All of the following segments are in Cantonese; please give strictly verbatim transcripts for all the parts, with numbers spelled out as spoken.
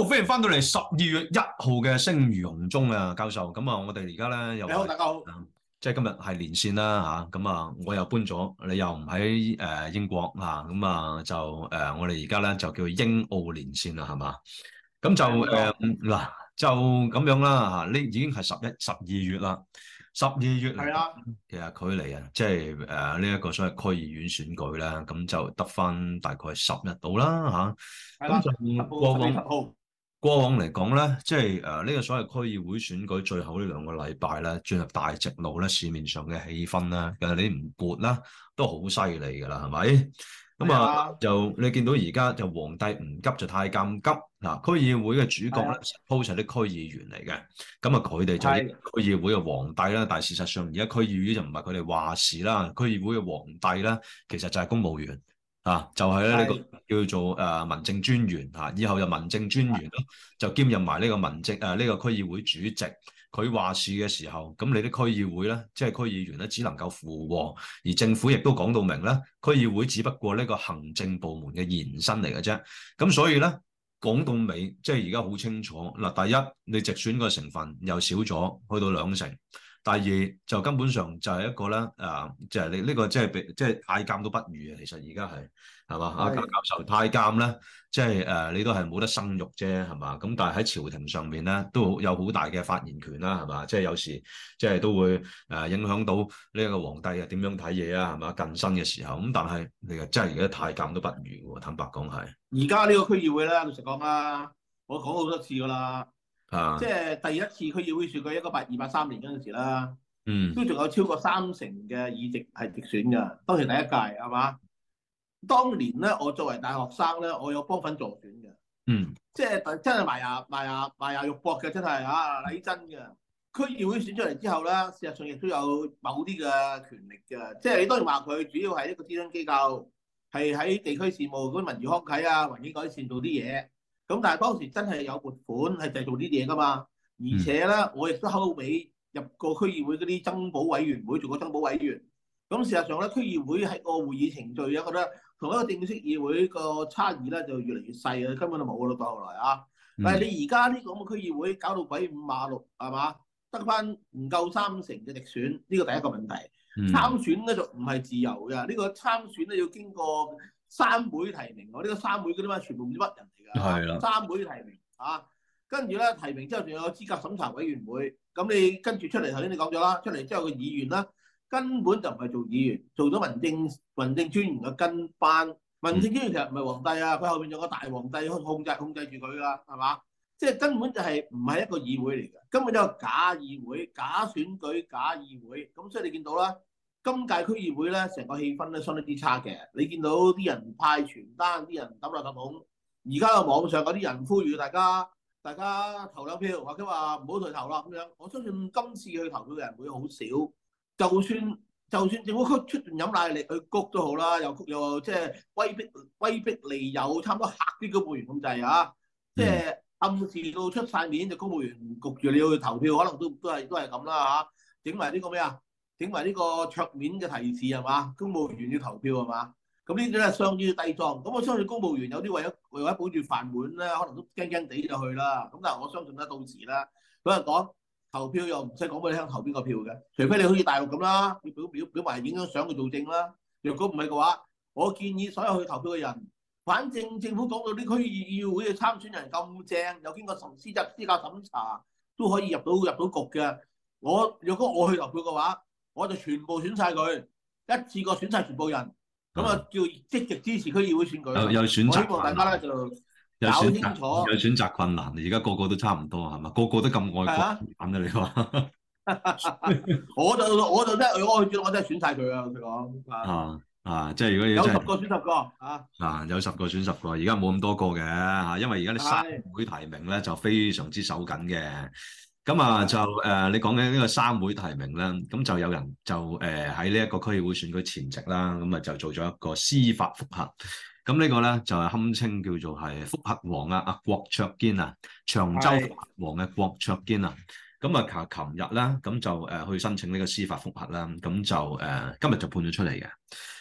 歡迎翻到嚟十二月一號嘅聲如洪鐘啊，教授。咁啊，我哋而家咧又你好，大家好。 即係今日係連線啦嚇，咁啊，我又搬咗，你又唔喺誒英國啊，咁啊就誒、呃、我哋而家咧就叫英澳連線啦，係嘛？咁就誒嗱、呃，就咁樣啦嚇，呢已經係十一、十二月啦，十二月嚟講，其實距離啊，即係誒呢一個所謂區議院選舉咧，咁就得翻大概十日到啦嚇，咁就過往。過往嚟講咧，即係誒呢個所謂區議會選舉最後呢兩個禮拜咧，進入大直路咧，市面上嘅氣氛咧，其實你唔撥啦，都好犀利㗎啦，係咪？咁啊，就你見到而家就皇帝唔急就太監急嗱，區議會嘅主角咧，suppose係啲區議員嚟嘅，咁啊佢哋就係區議會嘅皇帝啦，但係事實上而家區議會就唔係佢哋話事啦，區議會嘅皇帝咧，其實就係公務員。啊，就係咧呢個叫做誒、呃、民政專員嚇、啊，以後就民政專員咯，就兼任埋呢個民政誒呢、呃這個區議會主席。佢話事嘅時候，咁你啲區議會咧，即係區議員咧，只能夠附和，而政府亦都講到明咧，區議會只不過呢個行政部門嘅延伸嚟嘅啫。咁所以咧講到尾，即係而家好清楚嗱，第一你直選個成分又少咗，去到兩成。第二就根本上就係一個咧，誒、呃，就係、是、你呢個即係即係太監都不如啊！其實而家係係嘛，阿教授太監咧，即係誒你都係冇得生育啫，係嘛？咁但係喺朝廷上面咧，都有好大嘅發言權啦，係嘛？即係有時即係都會誒影響到呢一個皇帝啊點樣睇嘢啊，係嘛？近身嘅時候咁，但係你又真係而家太監都不如喎，坦白講係。 而家呢個區議會咧，老實講啦，我講好多次噶啦。啊、即係第一次區議會選舉，一九八二八三年嗰陣時啦，嗯，都仲有超過三成嘅議席係直選㗎。當時第一屆係嘛？當年咧，我作為大學生咧，我有幫份助選嘅，嗯，即係真係埋牙埋牙埋牙肉搏嘅，真係啊，禮真嘅。區議會選出嚟之後咧，事實上亦都有某啲嘅權力嘅，即係你當然話佢主要係一個諮詢機構，係喺地區事務嗰啲文娛康體啊、環境改善做啲嘢。咁但係當時真係有撥款係製造啲嘢㗎嘛，而且咧我亦都後尾入過區議會嗰啲增補委員會做過增補委員。咁事實上咧，區議會喺個會議程序啊，覺得同一個正式議會個差異咧就越嚟越細啊，根本就冇啦到後來啊。但係你而家呢個咁嘅區議會搞到鬼五馬六係嘛，得返唔夠三成嘅直選，呢個第一個問題。參選咧就唔係自由嘅，呢個參選咧要經過三會提名，我、這、呢個三會嗰啲咩全部唔知乜人嚟㗎，係啦，三會提名啊，跟住咧提名之後仲有資格審查委員會，咁你跟住出嚟頭先你講咗啦，出嚟之後個議員啦根本就唔係做議員，做咗民政民政專員嘅跟班，民政專員其實唔係皇帝啊，佢後邊仲有個大皇帝控制控制住佢㗎，係嘛？即係根本就係唔係一個議會嚟嘅，根本就係假議會、假選舉、假議會，咁所以你見到啦。今屆區議會咧，成個氣氛咧相當之差嘅。你見到啲人派傳單，啲人抌垃圾桶。而家嘅網上嗰啲人呼籲大家，大家投兩票，或者話唔好退投啦咁樣。我相信今次去投票嘅人會好少。就算就算政府出出盡飲奶力去谷都好啦，又谷又即係威逼威逼利誘，差唔多嚇啲公務員咁滯啊！即係暗示到出晒面，就公務員焗住你要去投票，可能都都係都係咁啦嚇。整埋呢個咩啊？整埋呢個桌面嘅提示係嘛？公務員要投票係嘛？咁呢啲咧相當於低裝。咁我相信公務員有啲為咗為咗保住飯碗咧，可能都驚驚地就去啦。咁但係我相信咧，到時咧，佢係講投票又唔使講俾你聽投邊個票嘅，除非你好似大陸咁啦，要表表表埋影張相去做證啦。若果唔係嘅話，我建議所有去投票嘅人，反正政府講到啲區議會嘅參選人咁正，有經過審資質資格審查，都可以入到入到局嘅。我若果我去投票嘅話，我就全部選晒佢，一次過選晒全部人，咁啊叫積極支持區議會選舉。有有選擇，我希望大家咧就搞清楚。 有選擇困難，而家個個都差唔多係嘛？個個都咁愛國咁啊！你話？ 我就我就真係我去選，我真係選晒佢啊！佢講啊啊！即係如果要有十個選十個啊啊，有十個選十個，而家冇咁多個嘅嚇，因為而家啲三會提名咧就非常之手緊嘅。咁啊就誒、呃，你講緊呢個三會提名咧，咁就有人就誒喺呢一個區議會選舉前夕啦，咁啊就做咗一個司法覆核。咁呢個咧就係、是、堪稱叫做係覆核王啊，阿郭卓堅啊，長洲覆核王嘅郭卓堅啊。咁啊，琴日咧咁就誒去申請呢個司法覆核啦，咁就誒、呃、今日就判咗出嚟嘅。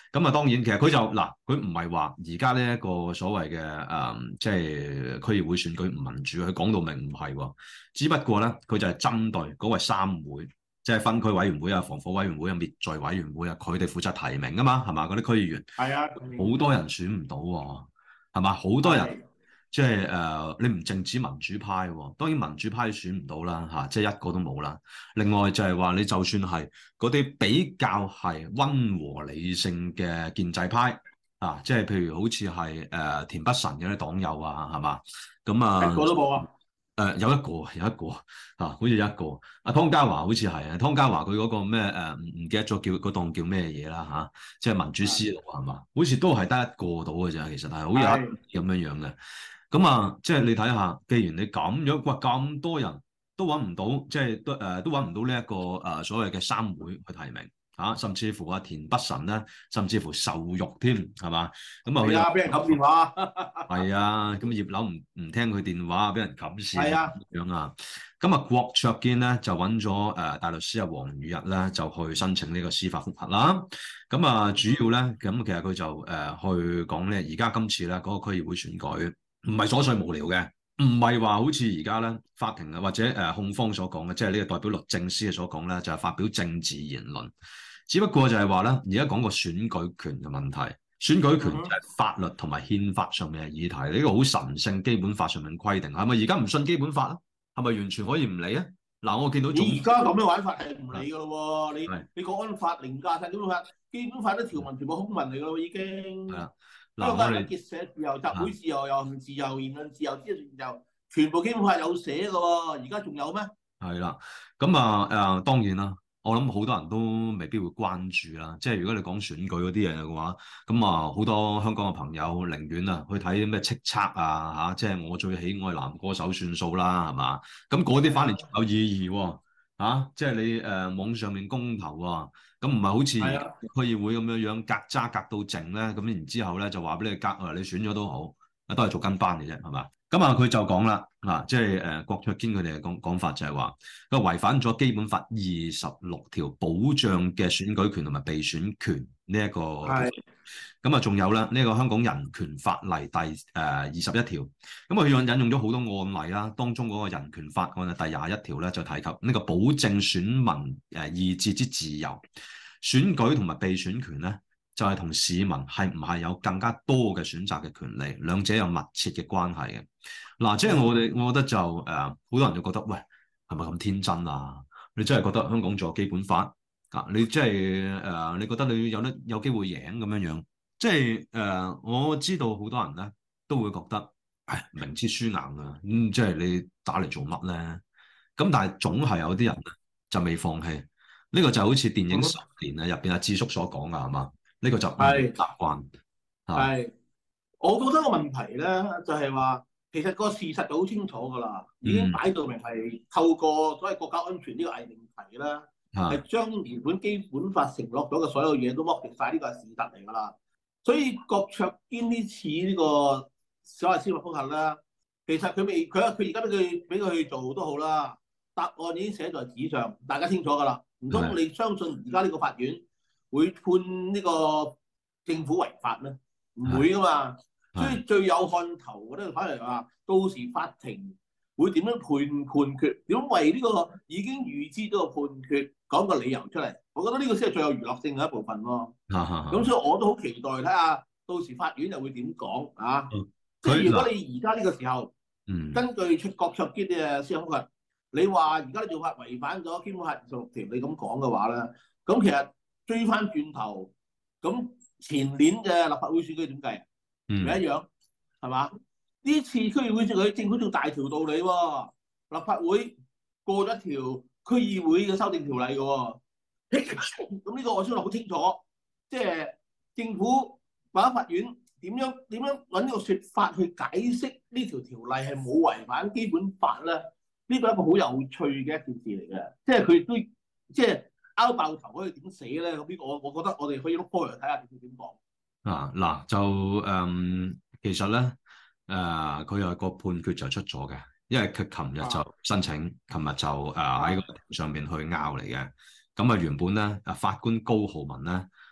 咁啊，當然其實佢就嗱，佢唔係話而家呢一個所謂嘅誒、嗯，即係區議會選舉唔民主，佢講到明唔係喎。只不過咧，佢就係針對嗰個三會，即係分區委員會啊、防火委員會啊、滅罪委員會啊，佢哋負責提名啊嘛，係嘛？嗰啲區議員係啊， 好多人選唔到喎，係嘛？好多人。即係誒、呃，你唔淨止民主派喎，當然民主派選唔到啦嚇，即係一個都冇啦。另外就係話你就算係嗰啲比較係溫和理性嘅建制派啊，即係譬如好似係誒田北辰嘅啲黨友啊，係嘛？咁啊， 一個都冇啊。 誒、呃、有一個有一個啊，好似一個阿湯家驊好似係啊，湯家驊佢嗰個咩誒唔唔記得咗叫嗰檔叫咩嘢啦嚇，即係民主思路係嘛？好似都係得一個到嘅啫，其實係好有咁樣樣嘅。咁啊，即係你睇下，既然你咁樣，哇咁多人都揾唔到，即係都誒、呃、都揾唔到呢、這、一個誒、呃、所謂嘅三會去提名嚇、啊，甚至乎阿田北辰咧，甚至乎受辱添，係嘛？咁啊， 係啊，俾人冚電話。係啊，咁葉劉唔唔聽佢電話，俾人冚線。係啊， 咁樣啊。咁啊，郭卓堅咧就揾咗誒大律師阿黃宇日咧，就去申請呢個司法覆核啦。咁啊，主要咧咁其實佢就誒、呃、去講咧，而家今次咧嗰、那個區議會選舉。唔係瑣碎無聊嘅，唔係話好似而家咧法庭啊或者誒、呃、控方所講嘅，即係呢個代表律政司嘅所講咧，就係、是、發表政治言論。只不過就係話咧，而家講個選舉權嘅問題，選舉權就係法律同埋憲法上面嘅議題，呢、這個好神聖，基本法上面規定，係咪而家唔信基本法啊？係咪完全可以唔理啊？嗱，我見到你而家咁嘅玩法係唔理噶咯喎，你你國安法凌駕晒基本法，基本法啲條文全部空文嚟噶咯，已經。係啊。香港人結社自由、集會自由、遊行自由、言論自由、知識自由，全部基本法有寫嘅喎，而家仲有咩？係啦， 咁啊誒，當然啦，我諗好多人都未必會關注啦。即係如果你講選舉嗰啲嘢嘅話，咁啊好多香港嘅朋友寧願啊去睇啲咩叱咤啊嚇，即係我最喜愛男歌手算數啦，係嘛？咁嗰啲反而仲有意義喎、啊啊、即係你誒、呃、網上面公投啊。咁唔係好似區議會咁樣樣隔渣隔到靜咧，咁然之後咧就話俾你隔啊，你選咗都好，都係做跟班嘅啫，係嘛？咁啊，佢就講啦，啊，即係誒郭卓堅佢哋嘅講講法就係話，佢違反咗基本法二十六條保障嘅選舉權同埋被選權呢一個。係。咁啊，仲有咧呢、這個香港人權法例第誒二十一條，咁啊佢用引用咗好多案例啦，當中嗰個人權法案嘅第廿一條咧就提及呢個保證選民誒意志之自由，選舉同埋被選權咧就係、是、同市民係唔係有更加多嘅選擇嘅權利，兩者有密切嘅關係嘅。嗱、啊，即係我哋我覺得就誒好、呃、多人就覺得喂係咪咁天真啊？你真係覺得香港仲有基本法啊？你即係誒你覺得你有得有機會贏咁樣樣？即係誒、呃，我知道好多人咧都會覺得，唉，明知輸硬啊，咁、嗯、即係你打嚟做乜咧？咁但係總係有啲人就未放棄，呢、這個就好似電影十年啊入邊阿智叔所講噶係嘛？呢、這個就唔習慣。係， 我覺得個問題咧就係、是、話，其實個事實就好清楚噶啦，已經擺到明係透過所謂國家安全呢個偽命題啦，係將原本基本法承諾咗嘅所有嘢都剝奪晒，呢個係事實嚟噶啦。所以郭卓堅呢次呢個所謂司法覆核啦，其實佢未佢佢而家俾佢俾佢去做都好啦，答案已經寫在紙上，大家清楚㗎啦。唔通你相信而家呢個法院會判呢個政府違法咩？唔會㗎嘛。所以最有看頭嘅咧，反而話到時法庭會點樣判判決？點為呢個已經預知到個判決講個理由出嚟？我覺得呢個先係最有娛樂性嘅一部分咯。咁所以我都好期待睇下到時法院又會點講啊！嗯、即係如果你而家呢個時候，嗯、根據出郭卓堅嘅司法覆核，你話而家啲做法違反咗基本法二十六條，你咁講嘅話咧，咁其實追翻轉頭，咁前年嘅立法會選舉點計啊？唔、嗯、一樣係嘛？呢次區議會選舉政府仲大條道理喎、哦，立法會過咗一條區議會嘅修訂條例嘅喎、哦。咁呢個我相信好清楚，即係政府或者法院點樣點樣揾呢個説法去解釋呢條條例係冇違反基本法咧？呢個係一個好有趣嘅一件事嚟嘅，即係佢都即係拗爆頭可以點死咧？咁呢個我我覺得我哋可以碌開嚟睇下佢點講。啊嗱就誒、嗯，其實咧誒，佢、呃、有個判決就出咗嘅，因為佢琴日就申請，琴日就誒喺個庭上邊去拗嚟嘅。咁啊，原本咧，啊法官高浩文咧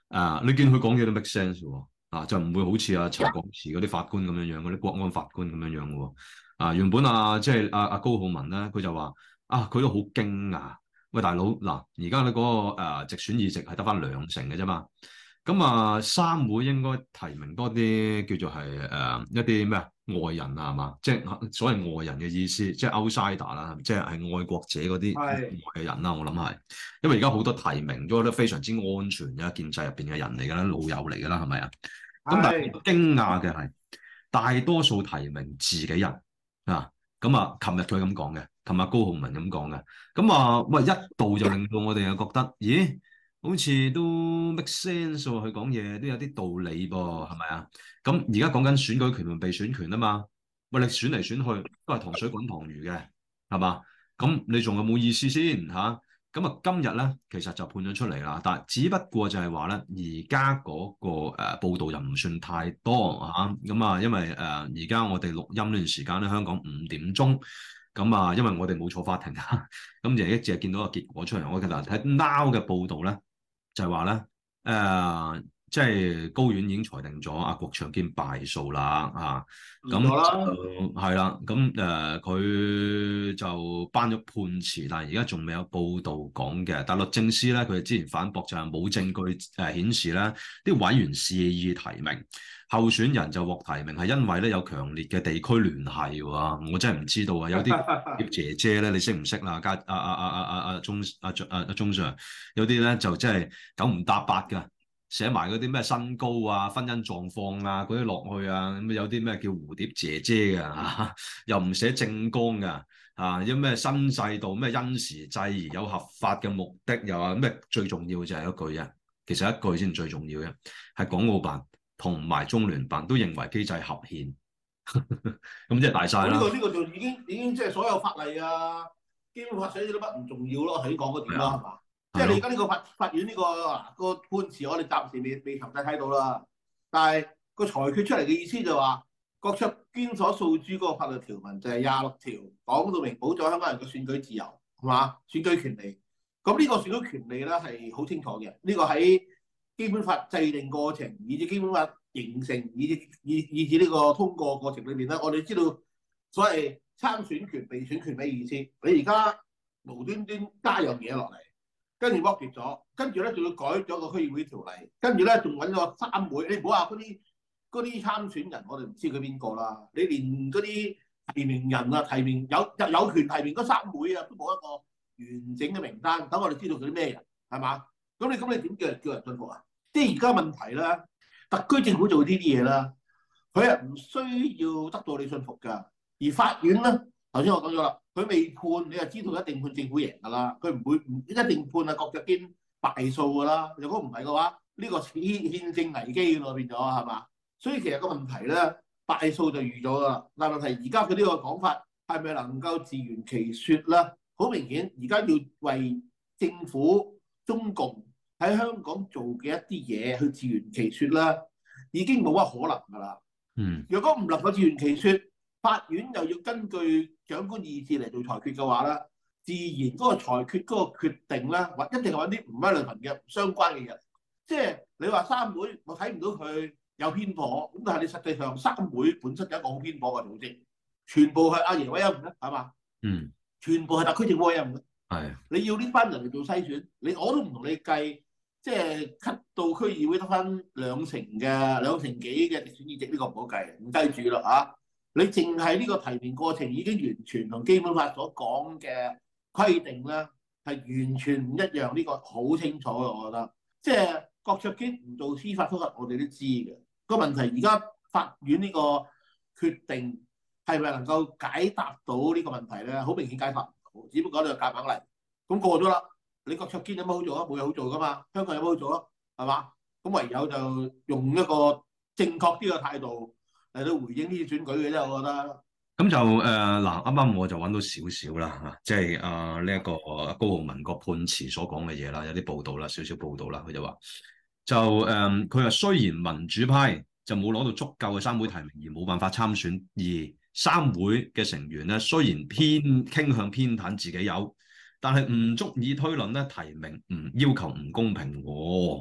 啊，你見佢講嘢都 make sense 喎，啊就唔會好似阿陳國慈嗰啲法官咁樣樣，嗰啲國安法官咁樣樣喎。啊原本啊即係阿阿高浩文咧，佢就話啊佢都好驚訝，喂大佬嗱，而家你嗰個誒直選議席係得翻兩成嘅啫嘛。咁啊，三會應該提名多啲叫做係誒、呃、一啲咩啊外人啊，係嘛？即係所謂外人嘅意思，即係 outsider 啦，即係係愛國者嗰啲外嘅人啦。我諗係，因為而家好多提名咗都非常之安全嘅建制入邊嘅人嚟㗎啦，老友嚟㗎啦，係咪啊？咁但係驚訝嘅係，大多數提名自己人啊。咁啊，琴日佢咁講嘅，琴日高浩文咁講嘅。咁啊，喂一度就令到我哋又覺得，咦？好似都 make sense 喎，佢講嘢都有啲道理噃，係咪啊？咁而家講緊選舉權同被選權啊嘛，喂，你選嚟選去都係糖水滾糖魚嘅，係嘛？咁你仲有冇意思先嚇？咁啊，今日咧其實就判咗出嚟啦，但係只不過就係話咧，而家嗰個誒、呃、報道又唔算太多嚇，咁啊，因為誒而家我哋錄音呢段時間咧，香港五點鐘。咁啊，因為我哋冇坐法庭啊，咁就一直係見到個結果出嚟。我其實睇 Now 嘅報道咧，就係話咧，誒、呃，即係高院已經裁定咗阿郭長堅敗訴啦，啊，咁就係啦，咁誒佢就頒咗判詞，但係而家仲未有報道講嘅。但律政司咧，佢哋之前反駁就係冇證據誒顯示咧，啲委員肆意提名。候選人就獲提名係因為咧有強烈嘅地區聯繫喎，我真係唔知道啊！有啲姐姐咧，你識唔識啦？家阿阿阿阿阿阿鐘阿阿阿鐘 Sir，有啲咧就真係九唔搭八㗎，寫埋嗰啲咩身高啊、婚姻狀況啊嗰啲落去啊，咁有啲咩叫蝴蝶姐姐㗎嚇，又唔寫政綱㗎啊，有咩新制度咩因時制宜有合法嘅目的，又話咩最重要就係一句啊，其實一句先最重要嘅，係港澳辦同埋中聯辦都認為機制合憲，咁即係大晒啦。 呢個呢個就已經已經即係所有法例啊，基本法寫咗啲乜唔重要咯，喺講嗰點啦，係嘛？即係你而家呢個法法院呢個個判詞，我哋暫時未未詳細睇到啦。但係個裁決出嚟嘅意思就話，郭卓堅所訴諸嗰個法律條文就係廿六條，講到明保障香港人嘅選舉自由，係嘛？選舉權利。咁呢個選舉權利咧係好清楚嘅，呢個喺基本法制定過程，以至基本法形成，以至以以至呢個通過過程裏邊咧，我哋知道所謂參選權、被選權咩意思？你而家無端端加樣嘢落嚟，跟住剝奪咗，跟住咧仲要改咗個區議會條例，跟住咧仲揾咗三會。你唔好話嗰啲嗰啲參選人，我哋唔知佢邊個啦。你連嗰啲提名人啊、提名有有有權提名嗰三會啊，都冇一個完整嘅名單，等我哋知道佢啲咩人係嘛？咁你咁你點叫人叫人信服啊？即係而家問題啦，特區政府做呢啲嘢啦，佢係唔需要得到你信服㗎。而法院咧，頭先我講咗啦，佢未判，你就知道一定判政府贏㗎啦。佢唔會唔一定判啊郭卓堅敗訴㗎啦。如果唔係嘅話，呢、這個憲憲政危機咯變咗係嘛？所以其實個問題咧，敗訴就預咗㗎啦。但係問題而家佢呢個講法係咪能夠自圓其説咧？好明顯，而家要為政府中共喺香港做嘅一啲嘢去自圓其説啦，已經冇乜可能㗎啦。嗯，如果唔能夠自圓其説，法院又要根據長官意志嚟做裁決嘅話咧，自然嗰個裁決嗰個決定咧，或一定係揾啲唔 relevant 嘅唔相關嘅人。即係你話三會，我睇唔到佢有偏頗，咁但係你實際上三會本身有一個好偏頗嘅組織，全部係阿爺委任嘅，係嘛？嗯，全部係特區政府委任嘅。係，你要呢班人嚟做篩選，你我都唔同你計。即係 cut 到區議會得翻兩成嘅兩成幾嘅直選議席，呢、這個唔好計，唔計住啦嚇。你淨係呢個提名過程已經完全同基本法所講嘅規定咧，係完全唔一樣。呢、這個好清楚嘅，我覺得。即係郭卓堅唔做司法覆核，我哋都知嘅。個問題而家法院呢個決定係咪能夠解答到呢個問題咧？好明顯解答唔到，只不過你就夾硬嚟，咁過咗啦。你郭卓堅有乜好做啊？冇嘢好做噶嘛，香港有乜好做啊？係嘛？咁唯有就用一個正確啲嘅態度嚟到回應呢啲選舉嘅啫，我覺得。咁就誒嗱，啱、呃、啱我就揾到少少啦嚇，即係啊呢一個高浩文個判詞所講嘅嘢啦，有啲報道啦，少少報道啦，佢就話就誒，佢、呃、話雖然民主派就冇攞到足夠嘅三會提名而冇辦法參選，而三會嘅成員咧雖然偏傾向偏袒自己有。但係唔足以推論咧，提名唔要求唔公平喎。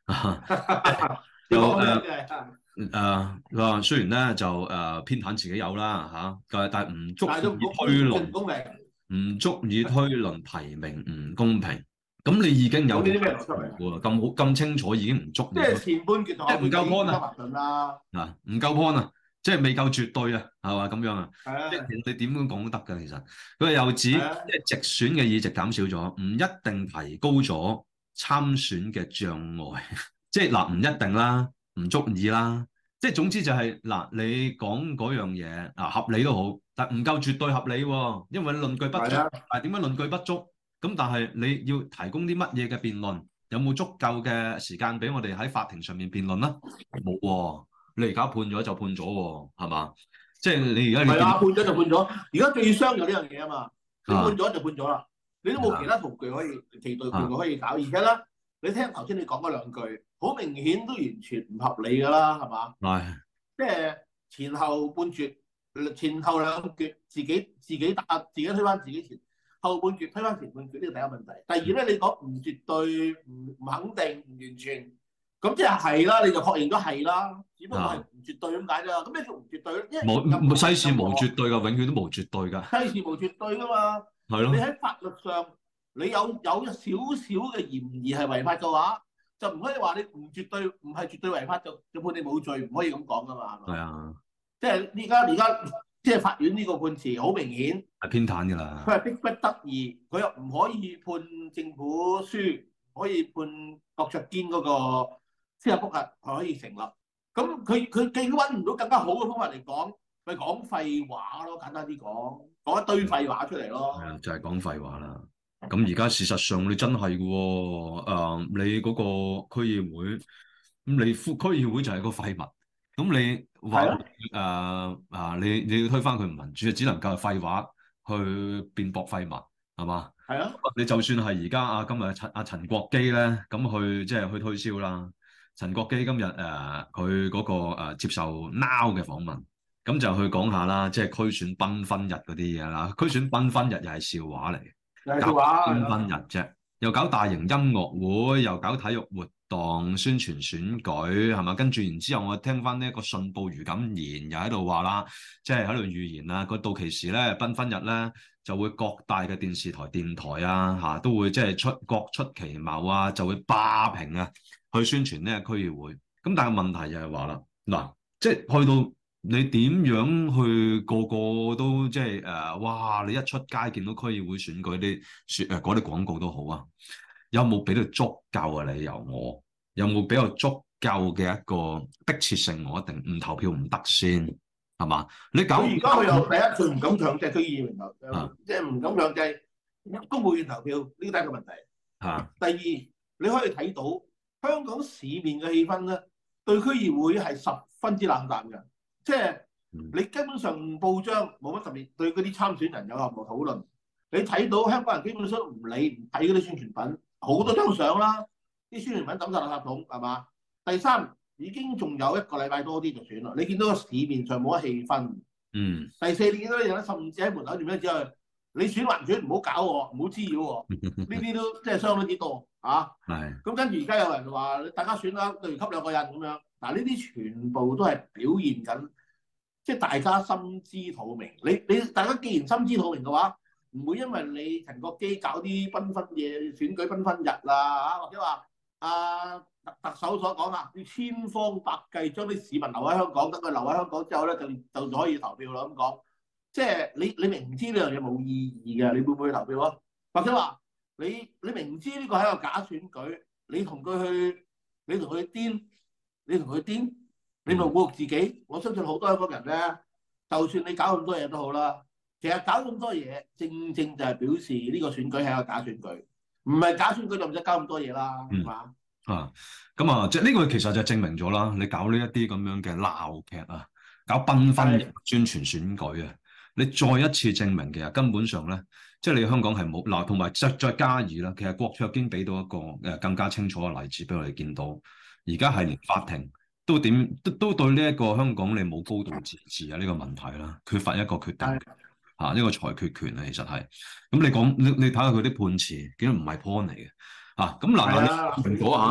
就誒誒，佢話雖然咧就誒偏袒自己有啦嚇，但但係唔足以推論，唔足以推論提名唔公平。咁你已經有啲咩邏輯嚟㗎？咁好咁清楚已經唔足， 即係前半決同唔夠 point 啊！嗱，唔夠 point 啊！即係未夠絕對啊，係嘛咁樣啊？即係你點樣講都得㗎，其實佢又指即係直選嘅議席減少咗，唔一定提高咗參選嘅障礙。即係嗱，唔一定啦，唔足以啦。即係總之就係、是、嗱，你講嗰樣嘢啊合理都好，但唔夠絕對合理喎，因為論據不足。但係點解論據不足？咁但係你要提供啲乜嘢嘅辯論？有冇足夠嘅時間俾我哋喺法庭上面辯論啦？冇喎。你而家判咗就判咗喎，係嘛？即係你而家係啊，判咗就判咗。而家最傷就呢樣嘢啊嘛，你判咗就判咗啦，你都冇其他途徑可以其對判可以搞。而且咧，你聽頭先你講嗰兩句，好明顯都完全唔合理㗎啦，係嘛？ 係。 即係前後半決，前後兩決，自己自己打，自己推翻自己前後半決，推翻前半決，呢個第一個問題。第二咧，你講唔絕對、唔唔肯定、唔完全。咁即係係啦，你就確認咗係啦，只不過係唔絕對咁解啫。咁咩叫唔絕對咧？ 冇世事無絕對㗎，永遠都冇絕對㗎。 世事無絕對㗎嘛。係咯。你喺法律上，你有有少少嘅嫌疑係違法嘅話，就唔可以話你唔絕對，唔係絕對違法就就判你冇罪，唔可以咁講㗎嘛。 係啊。 即係而家而家即係法院呢個判詞好明顯係偏袒㗎啦。 佢係逼不得已，佢又唔可以判政府輸，可以判郭卓堅嗰個司法覆核係可以成立，咁佢佢既揾唔到更加好嘅方法嚟講，咪講廢話咯，簡單啲講，講一堆廢話出嚟咯。係啊， 就係講廢話啦。咁而家事實上你真係嘅喎，誒你嗰個區議會，咁你副區議會就係個廢物，咁你話誒啊你你要推翻佢唔民主，就只能夠係廢話去辯駁廢物，係嘛？ 係啊。你就算係而家啊今日陳阿陳國基咧，咁去即係去推銷啦。陳國基今日誒佢嗰個、呃、接受 Now 嘅訪問，咁就去講下啦，即係區選繽紛日嗰啲嘢啦。區選繽紛日又係笑話嚟嘅， 笑話繽紛日啫，又搞大型音樂會，又搞體育活動，宣傳選舉係嘛？跟住然之後，我聽翻呢一個信報余錦賢又喺度話啦，即係喺度預言啦，個到期時咧繽紛日咧就會各大嘅電視台、電台啊嚇都會即係出各出奇謀啊，就會霸屏啊！去宣傳呢個區議會，咁但係問題就係話啦，嗱，即係去到你點樣去個個都即係誒，哇！你一出街見到區議會選舉啲説誒嗰啲廣告都好啊，有冇俾到足夠嘅理由我？有冇俾到足夠嘅一個迫切性我一定唔投票唔得先係嘛？你搞而家佢又第一佢唔敢強制區議員投票，即係唔敢強制公務員投票，呢個第一個問題。嚇、啊。第二，你可以睇到。香港市面嘅氣氛咧，對區議會係十分之冷淡嘅，即係你基本上報章冇乜特別對嗰啲參選人有任何討論。你睇到香港人基本上唔理唔睇嗰啲宣傳品，好多張相啦，啲宣傳品抌晒垃圾桶係嘛？第三，已經仲有一個禮拜多啲就選啦，你見到個市面上冇乜氣氛。 嗯。第四，你見到啲人甚至喺門口點樣之後，你選還選唔好搞我，唔好滋擾我，呢啲都即係相當之多。啊，係，咁跟住而家有人話大家選啦，對完給兩個人咁樣，嗱呢啲全部都係表現緊，即係大家心知肚明。你你大家既然心知肚明嘅話，唔會因為你陳國基搞啲繽紛嘢選舉繽紛日啊，或者話啊特特首所講啊，要千方百計將啲市民留喺香港，等佢留喺香港之後咧就就可以投票啦咁講。即係你你明知呢樣嘢冇意義嘅，你會唔會投票啊？或者話？你你明知呢個係一個假選舉，你同佢去，你同佢癲，你同佢癲，你咪侮辱自己。我相信好多香港人咧，就算你搞咁多嘢都好啦，其實搞咁多嘢，正正就係表示呢個選舉係一個假選舉，唔係假選舉就唔使搞咁多嘢啦，係嘛？ 啊，咁啊，即係呢個其實就證明咗啦，你搞呢一啲咁樣嘅鬧劇啊，搞繽紛宣傳選舉啊，你再一次證明其實根本上咧。即係你香港係冇嗱，同埋再再加以啦。其實郭卓堅俾到一個誒更加清楚嘅例子俾我哋見到，而家係連法庭都點都都對呢一個香港你冇高度自治啊呢個問題啦，缺乏一個決定嚇呢、啊呢個裁決權啊，其實係咁你講你你睇下佢啲判詞，竟然唔係 point 嚟嘅嚇。咁嗱，蘋果嚇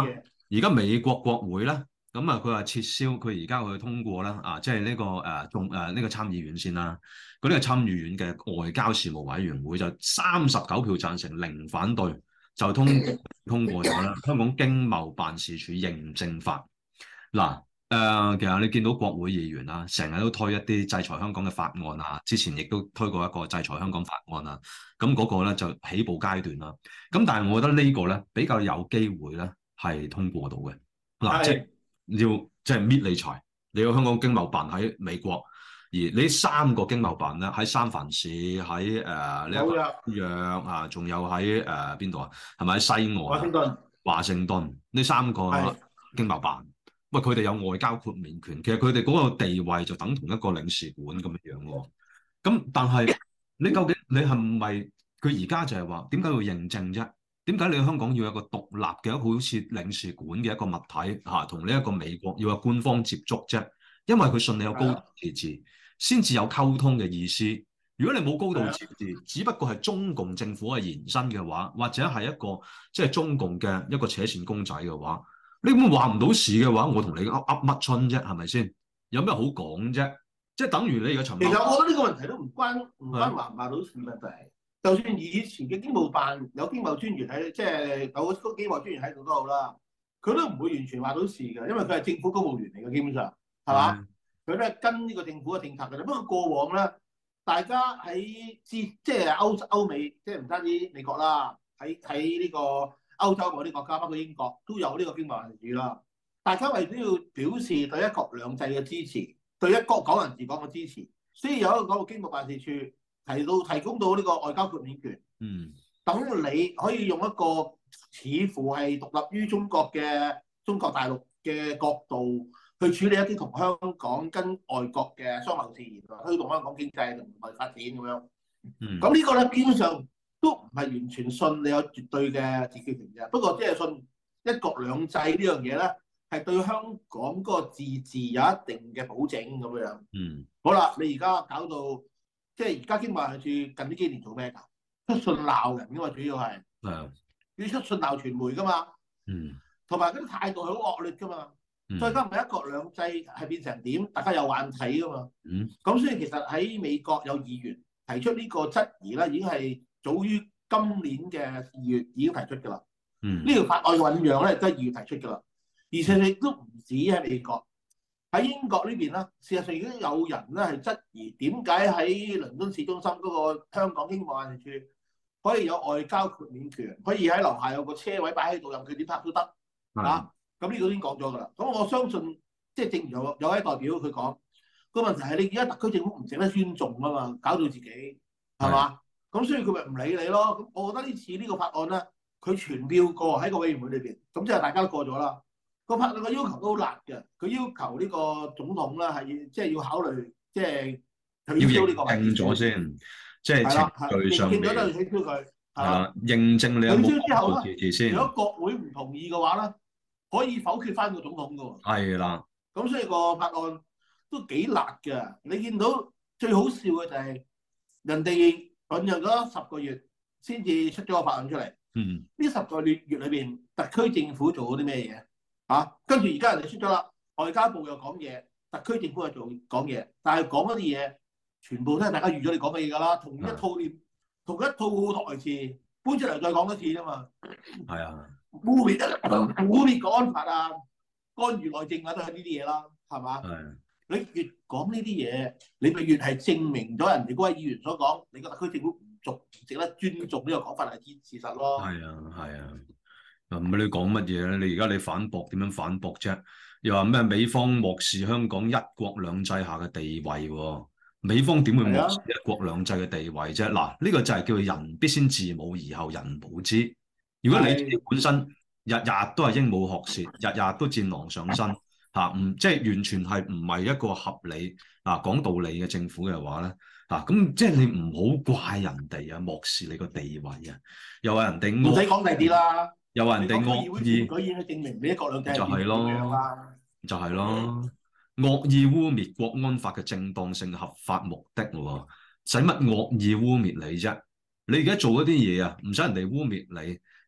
而家美國國會咧，咁啊佢話撤銷，佢而家去通過啦，啊，即係呢個誒眾誒呢個參議院先啦。嗰啲係參議院嘅外交事務委員會就三十九票贊成，零反對，就通通過咗啦。香港經貿辦事處認證法嗱。誒、呃，其實你見到國會議員啊，成日都推一啲制裁香港嘅法案啊，之前亦都推過一個制裁香港法案啊，咁嗰個咧就起步階段啦。咁但係我覺得個呢個咧比較有機會咧係通過到嘅。嗱，即係要即係搣理財，你有香港經貿辦喺美國，而呢三個經貿辦咧喺三藩市，喺誒呢一個紐約啊，仲有喺誒邊度啊？係咪喺西岸？華盛頓。華盛頓呢三個經貿辦。喂，佢哋有外交豁免權，其實佢哋嗰個地位就等同一個領事館咁樣樣喎。咁但係你究竟你係唔係佢而家就係話點解要認證啫？點解你香港要有一個獨立嘅一個好似領事館嘅一個物體嚇，同呢一個美國要有官方接觸啫？因為佢信你有高度自治，先至有溝通嘅意思。如果你冇高度自治，只不過係中共政府嘅延伸嘅話，或者係一個即係中共嘅一個扯線公仔嘅話，你咁話唔到事嘅話，我同你噏噏乜春啫？係咪先？有咩好講啫？即係等於你而家陳。 其實我覺得呢個問題都唔關唔關話唔話到事問題。就算以前嘅經貿辦有經貿專員喺，即係有個經貿專員喺度都好啦，佢都唔會完全話到事嘅，因為佢係政府公務員嚟嘅，基本上係嘛？佢都係跟呢個政府嘅政策嘅啫。不過過往咧，大家喺之即係歐歐美，即係唔單止美國啦，喺喺呢個歐洲嗰啲國家，包括英國都有呢個經貿辦事處啦。大家為咗要表示對一國兩制嘅支持，對一國港人治港嘅支持，所以有一個嗰個經貿辦事處提到提供到呢個外交豁免權。嗯，等你可以用一個似乎係獨立於中國嘅中國大陸嘅角度去處理一啲同香港跟外國嘅商貿事宜，推動香港經濟同埋發展咁樣。嗯，咁呢個咧基本上都唔係完全信你有絕對嘅自決權嘅，不過即係信一國兩制呢樣嘢咧，係對香港嗰個自治有一定嘅保證咁樣。嗯，好啦，你而家搞到即係而家經貿辦處近呢幾年做咩㗎？出信鬧人㗎嘛，主要係係要出信鬧傳媒㗎嘛。嗯，同埋嗰啲態度係好惡劣㗎嘛。嗯，再加埋一國兩制係變成點，大家有眼睇㗎嘛。嗯，咁所以其實喺美國有議員提出呢個質疑咧，已經係早於今年嘅二月已經提出㗎啦。嗯，呢條法案醖釀咧都係二月提出㗎啦。而且亦都唔止喺美國，喺英國呢邊咧，事實上已經有人咧係質疑點解喺倫敦市中心嗰個香港經貿辦事處可以有外交豁免權，可以喺樓下有個車位擺喺度，任佢點拍都得。啊，咁呢個已經講咗㗎啦。咁我相信，即係正如有有位代表佢講，個問題係你而家特區政府唔值得尊重啊嘛，搞到自己係嘛？咁所以佢咪唔理你咯。咁我覺得呢次呢個法案咧，佢全票過喺個委員會裏邊，咁即係大家都過咗啦。個法案嘅要求都好辣嘅，佢要求呢個總統咧係即係要考慮，即係取消呢個認證咗先，即係程序上面認證咗都要取消佢。係啦，認證你有冇取消之後咧，如果國會唔同意嘅話咧，可以否決翻個總統㗎喎。係啦，咁所以個法案都幾辣嘅。你見到最好笑嘅就係人哋醖釀咗十個月先至出咗個法案出嚟。嗯，呢十個月月裏邊，特區政府做咗啲咩嘢？啊，跟住而家人哋出咗啦，外交部又講嘢，特區政府又做講嘢，但係講嗰啲嘢全部都係大家預咗你講嘅嘢㗎啦，同一套念，同一套台詞搬出嚟再講多次啫嘛。係啊，污蔑啊，污蔑國安法啊，干預內政啊，都係呢啲嘢啦，係嘛？係。你越講呢啲嘢，你咪越係證明咗人哋嗰位議員所講，你個特區政府唔足唔值得尊重呢個講法係事實咯。係啊，係啊。唔係你講乜嘢咧？你而家你反駁點樣反駁啫？又話咩美方漠視香港一國兩制下嘅地位喎？美方點會漠視一國兩制嘅地位啫？嗱，呢個就係叫做人必先自侮而後人侮之。如果你自己本身日日都係鸚鵡學舌，日日都戰狼上身嚇，唔即係完全係唔係一個合理啊講道理嘅政府嘅話咧嚇，咁即係你唔好怪人哋啊漠視你個地位啊，又話人哋唔使講第啲啦。又話人哋惡意，佢已經證明你一國兩制就係咯，就係咯，惡意污蔑國安法嘅正當性、合法目的喎，使乜惡意污蔑你啫？你而家做嗰啲嘢啊，唔使人哋污蔑你，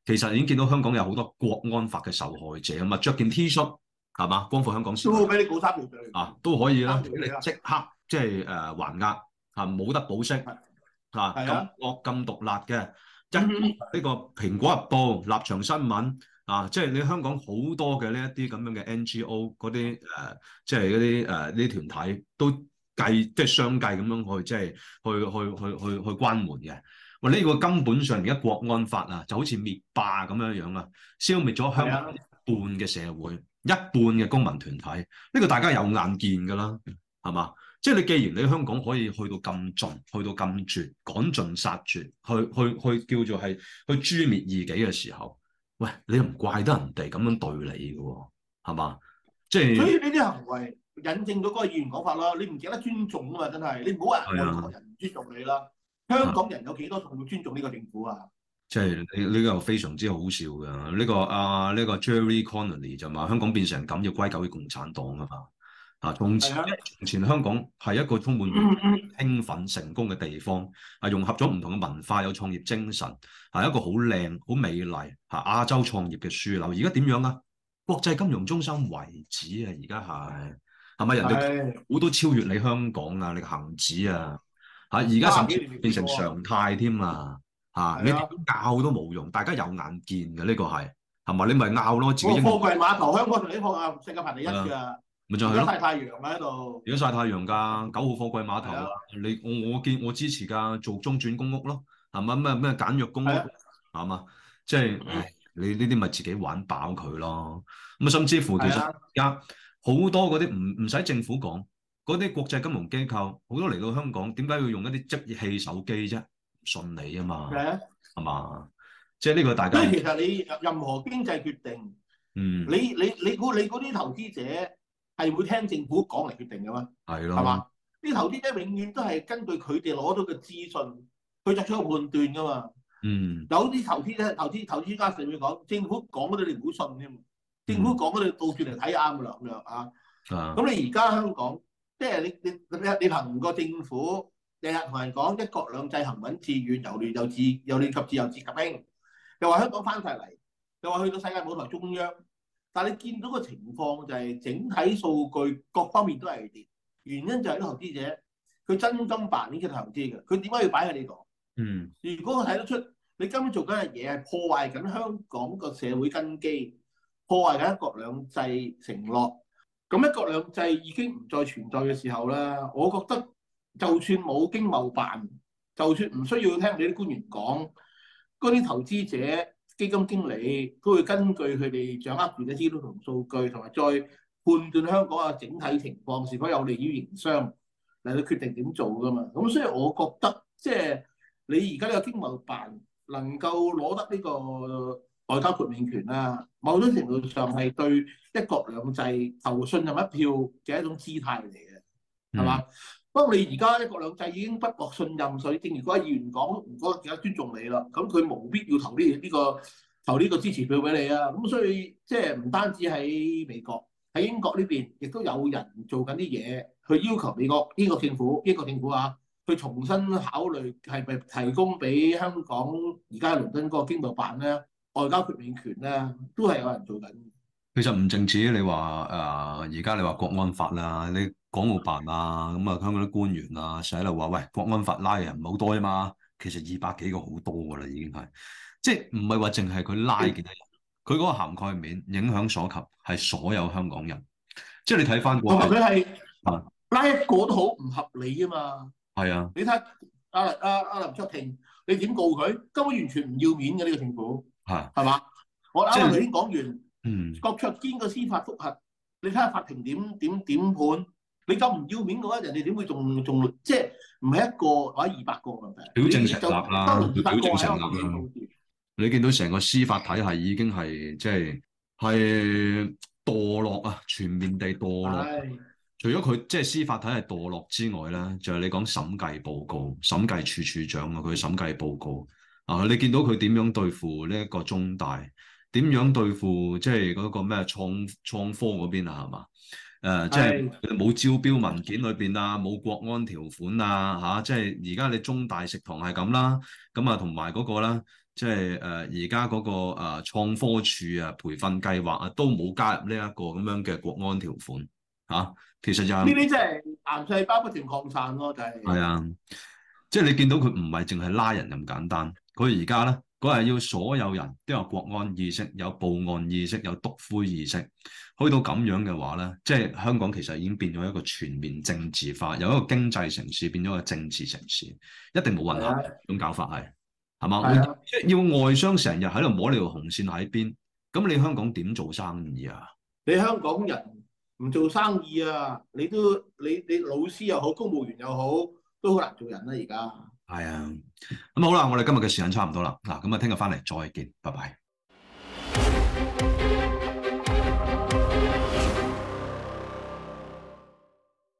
其實已經見到香港有好多國安法嘅受害者啊嘛，着件 T 恤係嘛，光復香港市民都俾你告三條罪啊，都可以啦，俾你三條罪啊即刻即係誒還押啊，冇得保釋啊，咁係啊， 惡咁毒辣嘅，一呢個蘋果日報、立場新聞啊，即係你香港好多嘅呢一啲咁樣嘅 N G O 嗰啲誒，即係嗰啲誒呢啲團體都計即係相繼咁樣去即係去去去去去關門嘅。喂，呢個根本上而家國安法啊，就好似滅霸咁樣樣啊，消滅咗香港一半嘅社會，一半嘅公民團體，呢個大家有眼見㗎啦，係嘛？即係你既然你香港可以去到咁盡，去到咁絕，趕盡殺絕，去去去叫做係去誅滅異己嘅時候，喂，你又唔怪得人哋咁樣對你嘅喎，係嘛？即係所以呢啲行為引證咗嗰個議員講法啦，你唔記得尊重啊嘛，真係，你唔好話外國人唔尊重你啦。香港人有幾多仲會尊重呢個政府啊？ 即係呢呢個非常之好笑嘅。呢、這個啊呢、這個 Jerry Connolly 就話香港變成咁要歸咎於共產黨啊嘛。啊，從前從前香港係一個充滿興奮成功嘅地方，係融合咗唔同嘅文化，有創業精神，係一個好靚好美麗嚇亞洲創業嘅樞紐。而家點樣啊？國際金融中心為止啊！而家係係咪人哋好多超越你香港啊？你恒指啊！嚇！而家甚至變成常態添啊！嚇！你點拗都冇用，大家有眼見嘅呢個係係咪？你咪拗咯，自己。貨櫃碼頭香港同啲貨啊，世界排第一㗎。 咪就係咯。 而家曬太陽喺度。 而家曬太陽㗎，九號貨櫃碼頭啊！你我我見我支持㗎，做中轉公屋咯，係咪咩咩簡約公屋係嘛？即係唉，你呢啲咪自己玩飽佢咯。咁啊，甚至乎其實而家好多嗰啲唔唔使政府講。嗰啲國際金融機構好多嚟到香港，點解要用一啲即棄手機啫？唔信你啊嘛，係嘛、啊？即係呢個大家。 所以其實你任何經濟決定，嗯，你你你估你嗰啲投資者係會聽政府講嚟決定嘅咩？係咯，係嘛？啲投資者永遠都係根據佢哋攞到嘅資訊去作出個判斷㗎嘛。嗯，有啲投資者、投資投資家成日講政府講嗰啲你唔好信添，政府講嗰啲倒轉嚟睇啱㗎啦咁樣啊。咁、嗯、你而家香港？即係你你你你憑個政府日日同人講一國兩制行穩致遠，由亂又治由亂及治又治及興，又話香港翻晒嚟，又話去到世界舞台中央，但係你見到個情況就係整體數據各方面都係跌，原因就係啲投資者佢真金白銀嘅投資嘅，佢點解要擺喺呢度？嗯，如果我睇得出你根本做緊嘅嘢係破壞緊香港個社會根基，破壞緊一國兩制承諾。咁一國兩制已經唔再存在嘅時候咧，我覺得就算冇經貿辦，就算唔需要聽你啲官員講，嗰啲投資者、基金經理都會根據佢哋掌握住嘅資料同數據，同埋再判斷香港嘅整體情況是否有利於營商嚟到決定點做噶嘛。咁所以我覺得，即係你而家呢個經貿辦能夠攞得呢個外交豁免權啦，某種程度上係對一國兩制投信任一票嘅一種姿態嚟嘅，係嘛？不過、嗯、你而家一國兩制已經不獲信任，所以正如嗰位議員講，唔覺得更加尊重你啦。咁佢冇必要投呢、這、呢個投呢個支持票俾你啊。咁所以即係唔單止喺美國，喺英國呢邊亦都有人做緊啲嘢，去要求美國呢個政府、英國政府啊，去重新考慮係咪提供俾香港而家倫敦嗰個經貿辦咧。外交豁免權咧，都係有人做緊。 其實唔淨止你話誒，而家你話國安法啦，你港澳辦啊，咁啊香港啲官員啊，成日喺度話喂，國安法拉人唔係好多啫嘛。其實二百幾個好多噶啦，已經係，即係唔係話淨係佢拉幾多人，佢嗰個涵蓋面、影響所及係所有香港人。即係你睇翻過， 同埋佢係拉一個都好唔合理啊嘛。 係啊， 你睇阿阿阿林卓廷，你點告佢？根本完全唔要面嘅呢個政府。係，係嘛？我啱啱頭先講完，嗯，郭卓堅個司法覆核，你睇下法庭點點點判？你咁唔要面嘅話，人哋點會仲仲即係唔係一個或者二百個問題？ 表證成立啦，表證成立啦。你見到成個司法體系已經係即係係墮落啊，全面地墮落。除咗佢即係司法體系墮落之外咧，就係你講審計報告、審計處處長啊，佢審計報告。啊！你見到佢點樣對付呢一個中大？點樣對付即係嗰個咩創創科嗰邊啊？係嘛？誒、呃，即係冇招標文件裏邊啊，冇國安條款啊，嚇、啊！即係而家你中大食堂係咁啦，咁啊同埋嗰個啦， 即係誒而家嗰個誒、呃、創科處啊培訓計劃啊都冇加入呢一個咁樣嘅國安條款嚇、啊，其實就係呢啲即係癌細胞不斷擴散咯，就係、是。 係啊，即係你見到佢唔係淨係拉人咁簡單，佢而家咧佢係要所有人都有國安意識、有報案意識、有督灰意識，去到咁樣嘅話咧，即係香港其實已經變咗一個全面政治化，由一個經濟城市變咗一個政治城市，一定冇混合咁搞法係。係嘛？即係要外商成日喺度摸你條紅線喺邊，咁你香港點做生意啊？ 你香港人唔做生意啊？你都你你老師又好，公務員又好，都好難做人啦而家。 係啊，咁好啦，我哋今日嘅時間差唔多啦，嗱，咁啊，聽日翻嚟再見，拜拜。